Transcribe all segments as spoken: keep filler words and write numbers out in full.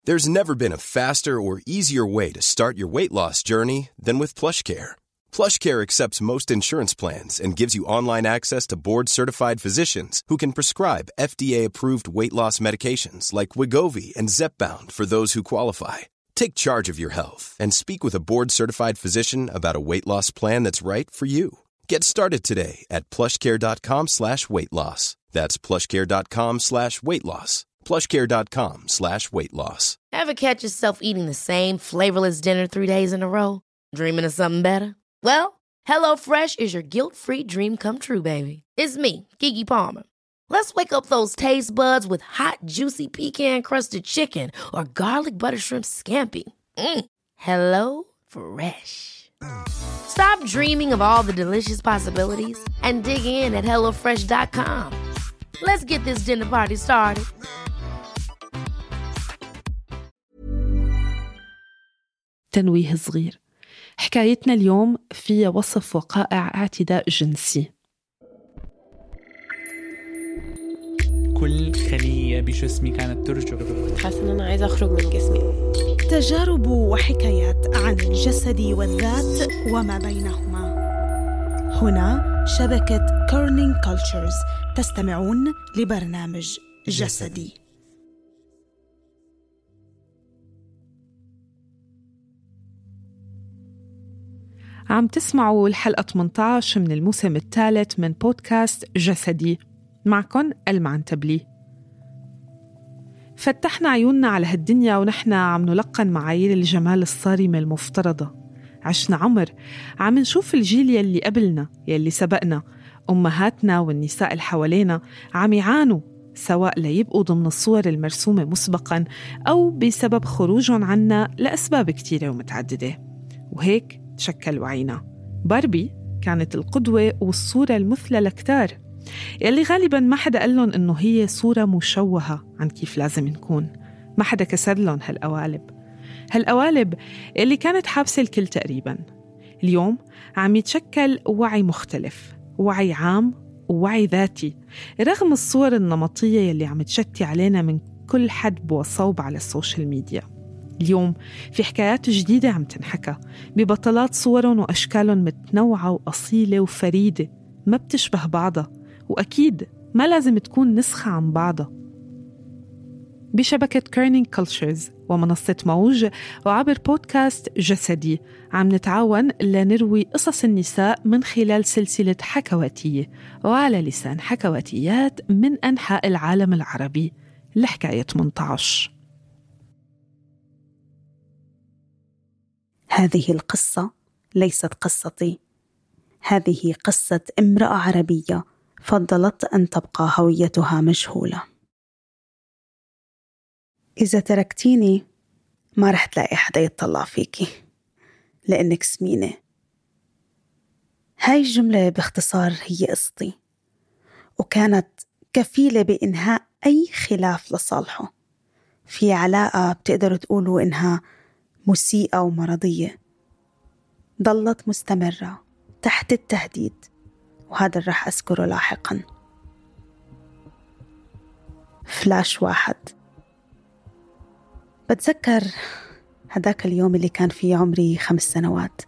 There's never been a faster or easier way to start your weight loss journey than with PlushCare. PlushCare accepts most insurance plans and gives you online access to board-certified physicians who can prescribe F D A-approved weight loss medications like Wegovy and Zepbound for those who qualify. Take charge of your health and speak with a board-certified physician about a weight loss plan that's right for you. Get started today at plushcare.com slash weight loss. That's plushcare.com slash weight loss. plushcare.com slash weight loss. Ever catch yourself eating the same flavorless dinner three days in a row? Dreaming of something better? Well, HelloFresh is your guilt-free dream come true, baby. It's me, Keke Palmer. Let's wake up those taste buds with hot, juicy pecan-crusted chicken or garlic butter shrimp scampi. Mm. Hello Fresh. Stop dreaming of all the delicious possibilities and dig in at hello fresh dot com. Let's get this dinner party started. تنويه صغير. حكايتنا اليوم فيها وصف وقائع اعتداء جنسي. كل خلية بجسمي كانت ترجف. حاسة إن أنا عايزة أخرج من جسمي. تجارب وحكايات عن الجسد والذات وما بينهما. هنا شبكة كورنينج كولتشرز. تستمعون لبرنامج جسدي. عم تسمعوا الحلقة ثمانية عشر من الموسم الثالث من بودكاست جسدي. معكن المعنتبلي. فتحنا عيوننا على هالدنيا ونحن عم نلقن معايير الجمال الصارمة المفترضة. عشنا عمر عم نشوف الجيل يلي قبلنا يلي سبقنا، أمهاتنا والنساء اللي حوالينا عم يعانوا، سواء ليبقوا ضمن الصور المرسومة مسبقاً أو بسبب خروجهم عنا لأسباب كتيرة ومتعددة. وهيك تشكل وعينا. باربي كانت القدوة والصورة المثلى لكتار، يلي غالباً ما حدا قال لهم إنه هي صورة مشوهة عن كيف لازم نكون. ما حدا كسر لهم هالقوالب هالقوالب اللي كانت حابسة الكل تقريباً. اليوم عم يتشكل وعي مختلف، وعي عام ووعي ذاتي، رغم الصور النمطية يلي عم تشتي علينا من كل حد وصوب على السوشيال ميديا. اليوم في حكايات جديدة عم تنحكى ببطلات صورهم وأشكالهم متنوعة وأصيلة وفريدة، ما بتشبه بعضها، وأكيد ما لازم تكون نسخة عن بعضها. بشبكة كورنينج كولتشرز ومنصة موج وعبر بودكاست جسدي عم نتعاون لنروي قصص النساء من خلال سلسلة حكواتية وعلى لسان حكواتيات من أنحاء العالم العربي لحكاية ثمانية عشر. هذه القصة ليست قصتي، هذه قصة امرأة عربية فضلت أن تبقى هويتها مجهولة. إذا تركتيني ما رح تلاقي حدا يتطلع فيكي لأنك سمينة. هاي الجملة باختصار هي قصتي، وكانت كفيلة بإنهاء أي خلاف لصالحه في علاقة بتقدروا تقولوا إنها مسيئة ومرضية، ظلت مستمرة تحت التهديد، وهذا رح أذكره لاحقاً. فلاش واحد. بتذكر هداك اليوم اللي كان فيه عمري خمس سنوات،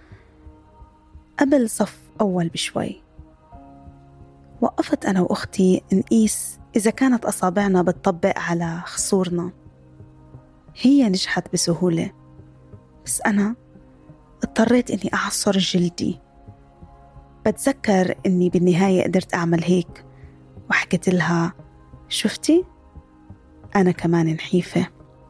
قبل صف أول بشوي. وقفت أنا وأختي نقيس إذا كانت أصابعنا بتطبق على خصورنا. هي نجحت بسهولة، بس أنا اضطريت إني أعصر جلدي. بتذكر إني بالنهاية قدرت أعمل هيك، وحكيت لها شفتي أنا كمان نحيفة.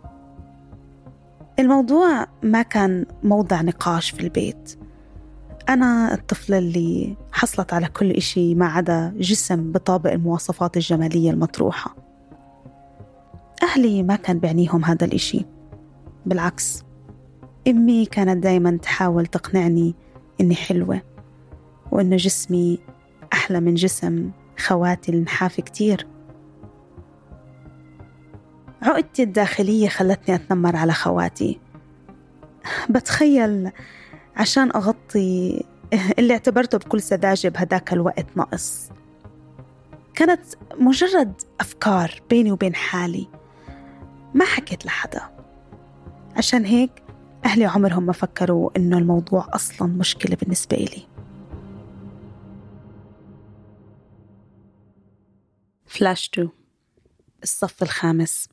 الموضوع ما كان موضع نقاش في البيت. أنا الطفلة اللي حصلت على كل إشي ما عدا جسم بطابق المواصفات الجمالية المطروحة. أهلي ما كان بعنيهم هذا الإشي، بالعكس أمي كانت دايما تحاول تقنعني إني حلوة وإنه جسمي أحلى من جسم خواتي النحاف كتير. عقدتي الداخلية خلتني أتنمر على خواتي، بتخيل عشان أغطي اللي اعتبرته بكل سذاجة بهداك الوقت نقص. كانت مجرد أفكار بيني وبين حالي، ما حكيت لحدا، عشان هيك أهلي عمرهم ما فكروا إنه الموضوع أصلاً مشكلة بالنسبة لي. فلاش تو، الصف الخامس.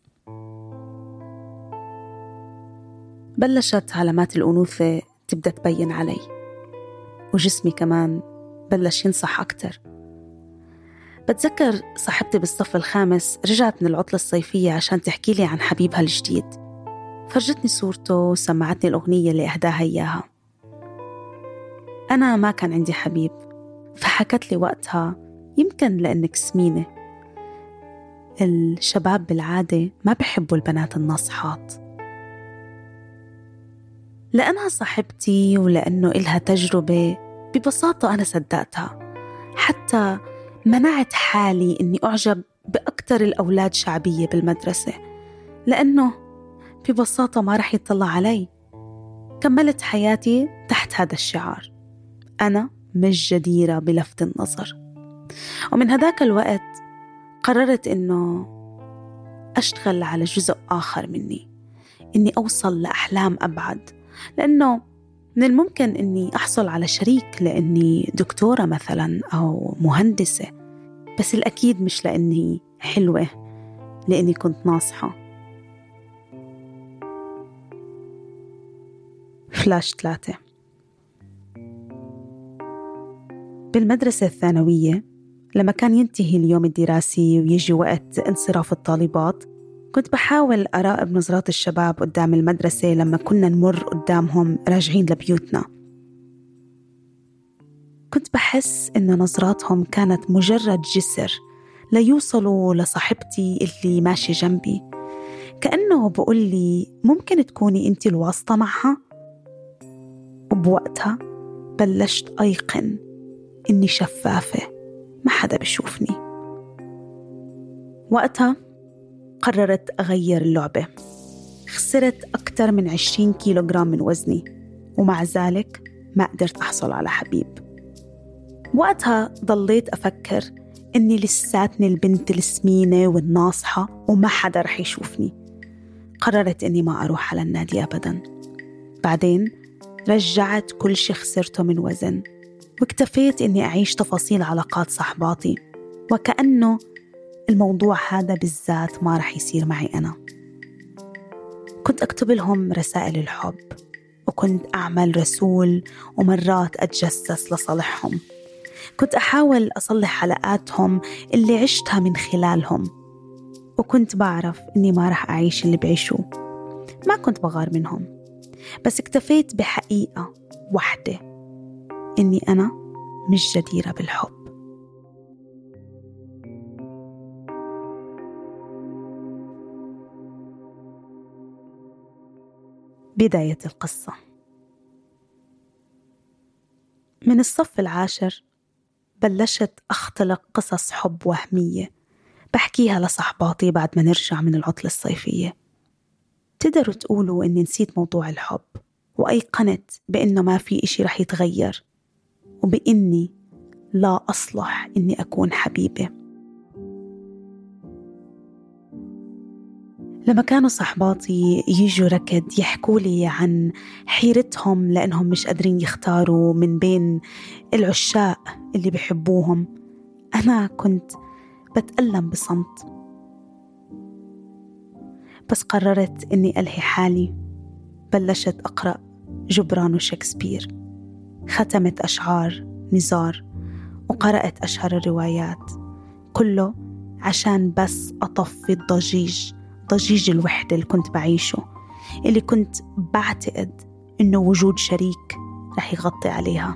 بلشت علامات الأنوثة تبدأ تبين علي، وجسمي كمان بلش ينصح أكتر. بتذكر صاحبتي بالصف الخامس رجعت من العطلة الصيفية عشان تحكي لي عن حبيبها الجديد، فرجتني صورته وسمعتني الأغنية اللي أهداها إياها. أنا ما كان عندي حبيب، فحكت لي وقتها يمكن لأنك سمينة، الشباب بالعادة ما بيحبوا البنات الناصحات. لأنها صاحبتي ولأنه إلها تجربة ببساطة أنا صدقتها، حتى منعت حالي إني أعجب بأكتر الأولاد شعبية بالمدرسة، لأنه ببساطة ما رح يطلع علي. كملت حياتي تحت هذا الشعار، أنا مش جديرة بلفت النظر. ومن هذاك الوقت قررت إنه أشتغل على جزء آخر مني، إني أوصل لأحلام أبعد، لأنه من الممكن إني أحصل على شريك لأني دكتورة مثلا أو مهندسة، بس الأكيد مش لأني حلوة، لأني كنت ناصحة. فلاش ثلاثة. بالمدرسة الثانوية لما كان ينتهي اليوم الدراسي ويجي وقت انصراف الطالبات، كنت بحاول أراقب نظرات الشباب قدام المدرسة لما كنا نمر قدامهم راجعين لبيوتنا. كنت بحس إن نظراتهم كانت مجرد جسر ليوصلوا لصاحبتي اللي ماشي جنبي، كأنه بقول لي ممكن تكوني أنت الواسطة معها. وبوقتها بلشت أيقن إني شفافة، ما حدا بيشوفني. وقتها قررت أغير اللعبة. خسرت أكثر من عشرين كيلوغرام من وزني، ومع ذلك ما قدرت أحصل على حبيب. وقتها ضليت أفكر إني لساتني البنت السمينة والناصحة وما حدا رح يشوفني. قررت إني ما أروح على النادي أبدا. بعدين رجعت كل شي خسرته من وزن، واكتفيت إني أعيش تفاصيل علاقات صحباتي، وكأنه الموضوع هذا بالذات ما رح يصير معي أنا. كنت أكتب لهم رسائل الحب، وكنت أعمل رسول، ومرات أتجسس لصالحهم. كنت أحاول أصلح حلقاتهم اللي عشتها من خلالهم، وكنت بعرف إني ما رح أعيش اللي بعيشوه. ما كنت بغار منهم، بس اكتفيت بحقيقة واحدة، إني أنا مش جديرة بالحب. بداية القصة. من الصف العاشر بلشت أختلق قصص حب وهمية بحكيها لصحباتي بعد ما نرجع من العطلة الصيفية. تقدروا تقولوا إني نسيت موضوع الحب، وأيقنت بإنه ما في إشي رح يتغير، وبإني لا أصلح إني أكون حبيبة. لما كانوا صحباتي يجوا ركض يحكوا لي عن حيرتهم لأنهم مش قادرين يختاروا من بين العشاق اللي بيحبوهم، أنا كنت بتألم بصمت. بس قررت إني ألهي حالي. بلشت أقرأ جبران وشكسبير، ختمت أشعار نزار، وقرأت أشهر الروايات، كله عشان بس أطفي الضجيج ضجيج الوحدة اللي كنت بعيشه، اللي كنت بعتقد إنه وجود شريك رح يغطي عليها.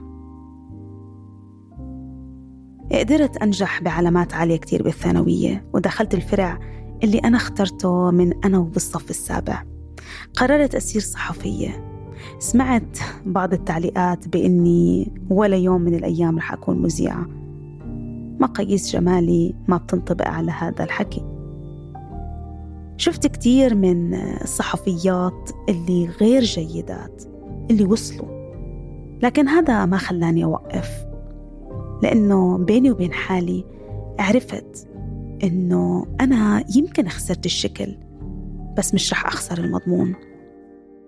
قدرت أنجح بعلامات عالية كتير بالثانوية، ودخلت الفرع اللي أنا اخترته من أنا وبالصف السابع. قررت أصير صحفية. سمعت بعض التعليقات بإني ولا يوم من الأيام رح أكون مذيعة. مقاييس جمالي ما بتنطبق على هذا الحكي. شفت كتير من الصحفيات اللي غير جيدات اللي وصلوا، لكن هذا ما خلاني أوقف، لأنه بيني وبين حالي عرفت إنه أنا يمكن خسرت الشكل، بس مش رح أخسر المضمون.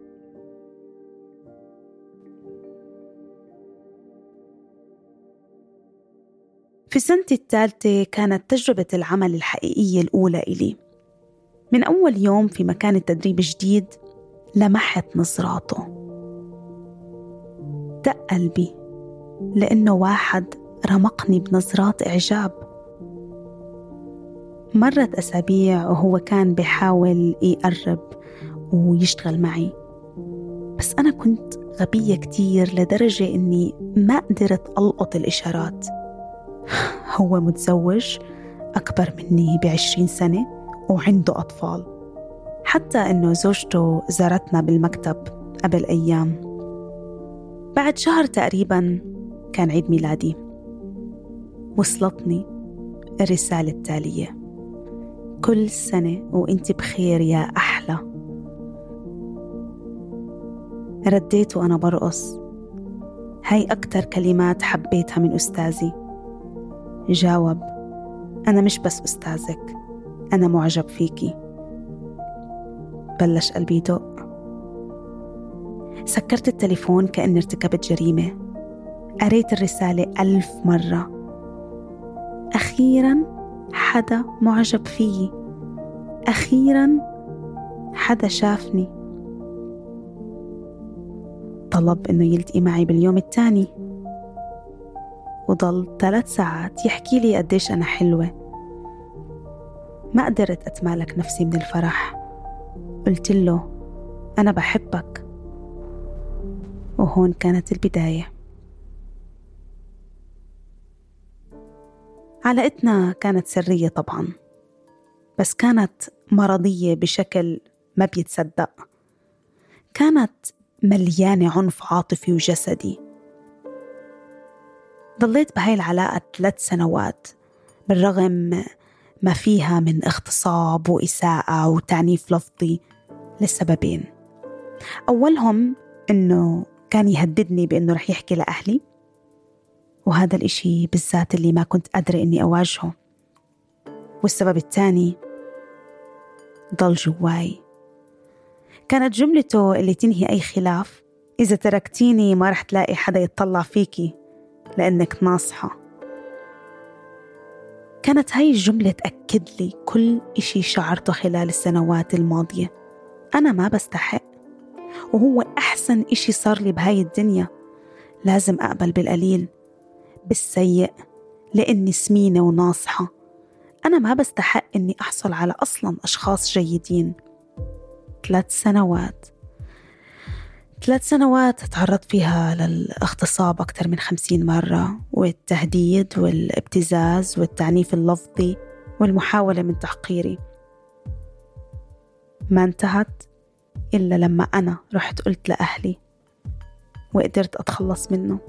في سنتي الثالثة كانت تجربة العمل الحقيقية الأولى إلي. من أول يوم في مكان التدريب جديد لمحت نظراته، دق قلبي لأنه واحد رمقني بنظرات إعجاب. مرت أسابيع وهو كان بيحاول يقرب ويشتغل معي، بس أنا كنت غبية كتير لدرجة إني ما قدرت ألقط الإشارات. هو متزوج أكبر مني بعشرين سنة وعنده أطفال، حتى إنه زوجته زارتنا بالمكتب قبل أيام. بعد شهر تقريباً كان عيد ميلادي، وصلتني الرسالة التالية: كل سنة وإنت بخير يا أحلى. رديت وأنا برقص، هاي أكتر كلمات حبيتها من أستاذي. جاوب: أنا مش بس أستاذك، أنا معجب فيكي. بلش قلبي يدق. سكرت التليفون كأني ارتكبت جريمة. قريت الرسالة ألف مرة. أخيراً حدا معجب فيي، أخيراً حدا شافني. طلب إنه يلتقي معي باليوم الثاني، وضل ثلاث ساعات يحكي لي قديش أنا حلوة. ما قدرت أتمالك نفسي من الفرح. قلت له: أنا بحبك. وهون كانت البداية. علاقتنا كانت سرية طبعاً، بس كانت مرضية بشكل ما بيتصدق. كانت مليانة عنف عاطفي وجسدي. ضليت بهاي العلاقة ثلاث سنوات بالرغم ما فيها من اغتصاب وإساءة وتعنيف لفظي لسببين. أولهم إنه كان يهددني بإنه رح يحكي لأهلي، وهذا الإشي بالذات اللي ما كنت قادرة إني أواجهه. والسبب الثاني ضل جواي. كانت جملته اللي تنهي أي خلاف: إذا تركتيني ما رح تلاقي حدا يتطلع فيكي لأنك ناصحة. كانت هاي الجملة تأكد لي كل إشي شعرته خلال السنوات الماضية. أنا ما بستحق، وهو أحسن إشي صار لي بهاي الدنيا. لازم أقبل بالقليل، بالسيء، لأني سمينة وناصحة. أنا ما بستحق إني أحصل على أصلاً أشخاص جيدين. ثلاث سنوات ثلاث سنوات تعرضت فيها للاغتصاب أكثر من خمسين مرة، والتهديد والابتزاز والتعنيف اللفظي والمحاولة من تحقيري. ما انتهت إلا لما أنا رحت قلت لأهلي وقدرت أتخلص منه.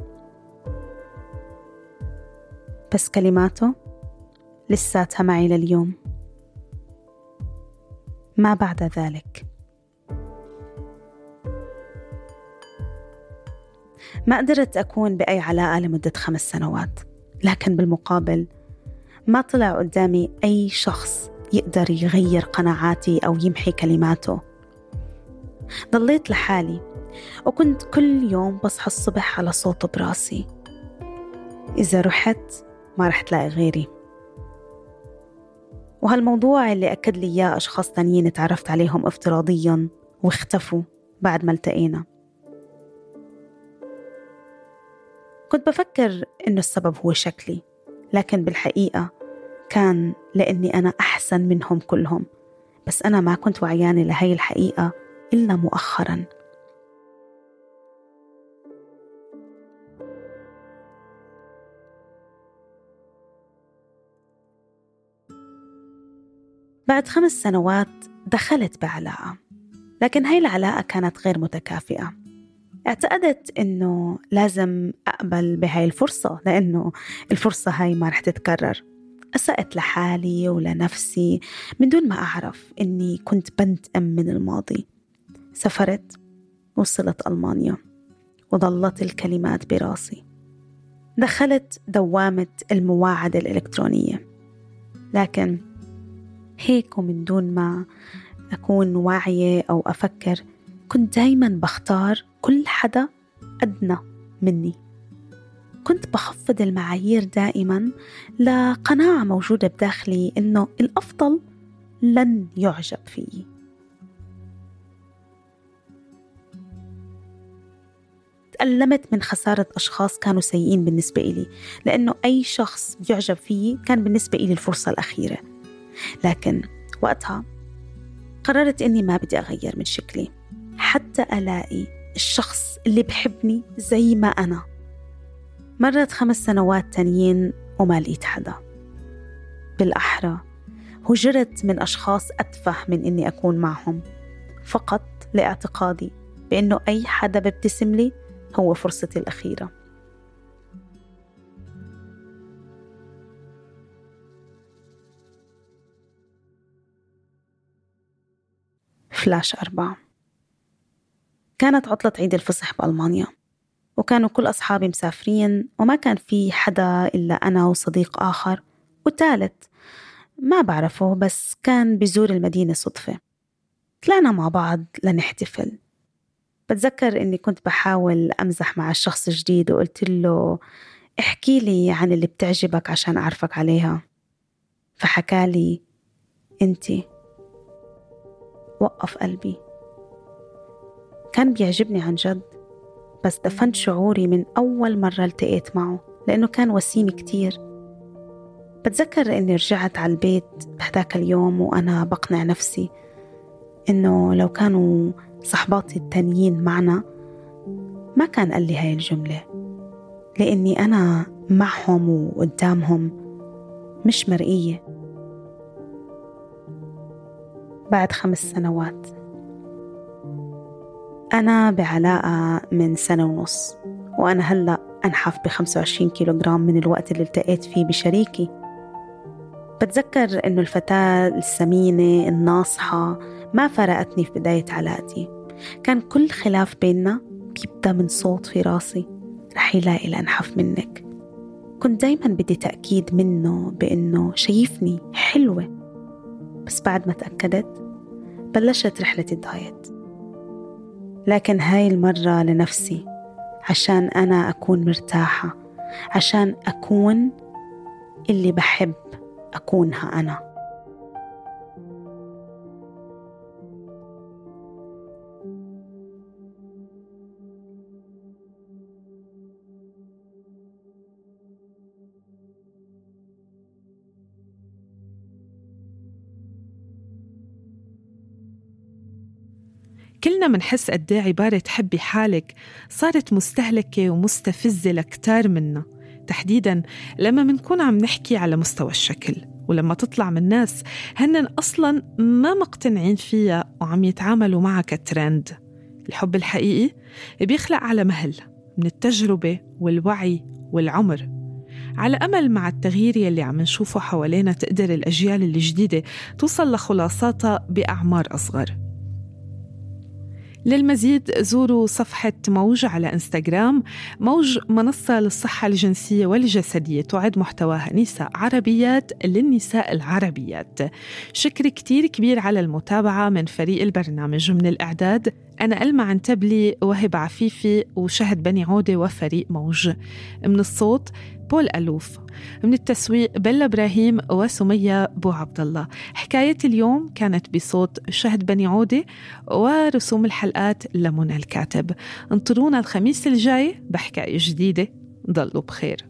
بس كلماته لساتها معي لليوم. ما بعد ذلك ما قدرت أكون بأي علاقة لمدة خمس سنوات، لكن بالمقابل ما طلع قدامي أي شخص يقدر يغير قناعاتي أو يمحي كلماته. ضليت لحالي، وكنت كل يوم بصحى الصبح على صوته براسي: إذا رحت ما رح تلاقي غيري. وهالموضوع اللي أكد لي إياه أشخاص تانيين تعرفت عليهم افتراضياً واختفوا بعد ما التقينا. كنت بفكر إنه السبب هو شكلي، لكن بالحقيقة كان لأني أنا أحسن منهم كلهم. بس أنا ما كنت وعيانة لهي الحقيقة إلا مؤخراً. بعد خمس سنوات دخلت بعلاقة، لكن هاي العلاقة كانت غير متكافئة. اعتقدت إنه لازم أقبل بهاي الفرصة، لأنه الفرصة هاي ما رح تتكرر. أسأت لحالي ولنفسي من دون ما أعرف إني كنت بنتقم من الماضي. سافرت، وصلت ألمانيا، وظلت الكلمات براسي. دخلت دوامة المواعدة الإلكترونية، لكن هيك ومن دون ما أكون واعية أو أفكر كنت دايما بختار كل حدا أدنى مني. كنت بخفض المعايير دائما لقناعة موجودة بداخلي إنه الأفضل لن يعجب فيه. تألمت من خسارة أشخاص كانوا سيئين بالنسبة إلي، لأنه أي شخص يعجب فيه كان بالنسبة إلي الفرصة الأخيرة. لكن وقتها قررت إني ما بدي أغير من شكلي حتى ألاقي الشخص اللي بحبني زي ما أنا. مرت خمس سنوات تانيين وما لقيت حدا. بالأحرى هجرت من أشخاص أتفه من إني أكون معهم، فقط لاعتقادي بأنه أي حدا بيبتسم لي هو فرصتي الأخيرة. فلاش أربعة. كانت عطلة عيد الفصح بألمانيا، وكانوا كل أصحابي مسافرين، وما كان في حدا إلا أنا وصديق آخر وثالث ما بعرفه بس كان بيزور المدينة صدفة. طلعنا مع بعض لنحتفل. بتذكر إني كنت بحاول أمزح مع الشخص الجديد وقلت له احكي لي عن اللي بتعجبك عشان أعرفك عليها. فحكى لي أنتي. وقف قلبي. كان بيعجبني عن جد، بس دفنت شعوري من أول مرة التقيت معه لأنه كان وسيم كتير. بتذكر إني رجعت على البيت بهداك اليوم وأنا بقنع نفسي إنه لو كانوا صحباتي التانيين معنا ما كان قال لي هاي الجملة، لأني أنا معهم وقدامهم مش مرئية. بعد خمس سنوات أنا بعلاقة من سنة ونص، وأنا هلأ أنحف بخمسة وعشرين كيلوغرام من الوقت اللي التقيت فيه بشريكي. بتذكر إنه الفتاة السمينة الناصحة ما فرقتني في بداية علاقتي. كان كل خلاف بيننا بيبدأ من صوت في راسي: رح يلاقي لأنحف منك. كنت دايما بدي تأكيد منه بأنه شايفني حلوة، بس بعد ما تأكدت بلشت رحلة الدايت. لكن هاي المرة لنفسي، عشان أنا أكون مرتاحة، عشان أكون اللي بحب أكونها أنا. كلنا منحس قد ايه عبارة حبي حالك صارت مستهلكة ومستفزة لكتار منا، تحديداً لما منكون عم نحكي على مستوى الشكل، ولما تطلع من ناس هنن أصلاً ما مقتنعين فيها وعم يتعاملوا معها كترند. الحب الحقيقي بيخلق على مهل من التجربة والوعي والعمر، على أمل مع التغيير يلي عم نشوفه حوالينا تقدر الأجيال الجديدة توصل لخلاصاتها بأعمار أصغر. للمزيد زوروا صفحة موج على إنستغرام. موج منصة للصحة الجنسية والجسدية، تعد محتواها نساء عربيات للنساء العربيات. شكر كتير كبير على المتابعة من فريق البرنامج. من الإعداد أنا ألمع عنتبلي، وهب عفيفي، وشهد بني عودة وفريق موج. من الصوت بول ألوف. من التسويق بلا إبراهيم وسمية بو عبد الله. حكاية اليوم كانت بصوت شهد بني عودة، ورسوم الحلقات لمنى الكاتب. انطرونا الخميس الجاي بحكاية جديدة. ضلوا بخير.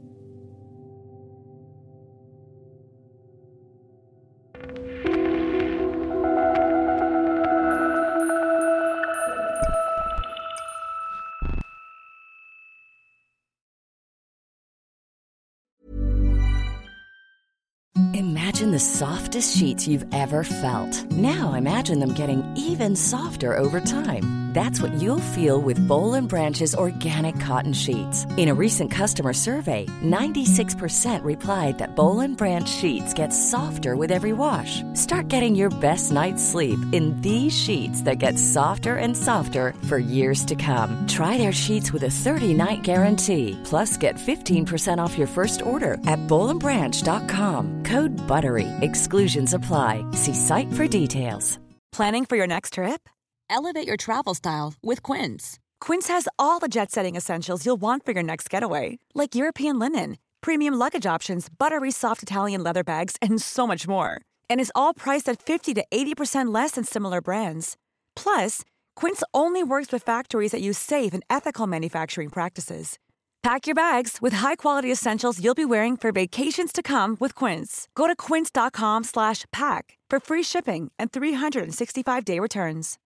Imagine the softest sheets you've ever felt. Now imagine them getting even softer over time. That's what you'll feel with Boll and Branch's organic cotton sheets. In a recent customer survey, ninety-six percent replied that Boll and Branch sheets get softer with every wash. Start getting your best night's sleep in these sheets that get softer and softer for years to come. Try their sheets with a thirty-night guarantee. Plus, get fifteen percent off your first order at boll and branch dot com. Code BUTTERY. Exclusions apply. See site for details. Planning for your next trip? Elevate your travel style with Quince. Quince has all the jet-setting essentials you'll want for your next getaway, like European linen, premium luggage options, buttery soft Italian leather bags, and so much more. And is all priced at fifty to eighty percent less than similar brands. Plus, Quince only works with factories that use safe and ethical manufacturing practices. Pack your bags with high-quality essentials you'll be wearing for vacations to come with Quince. Go to quince.com slash pack for free shipping and three sixty-five day returns.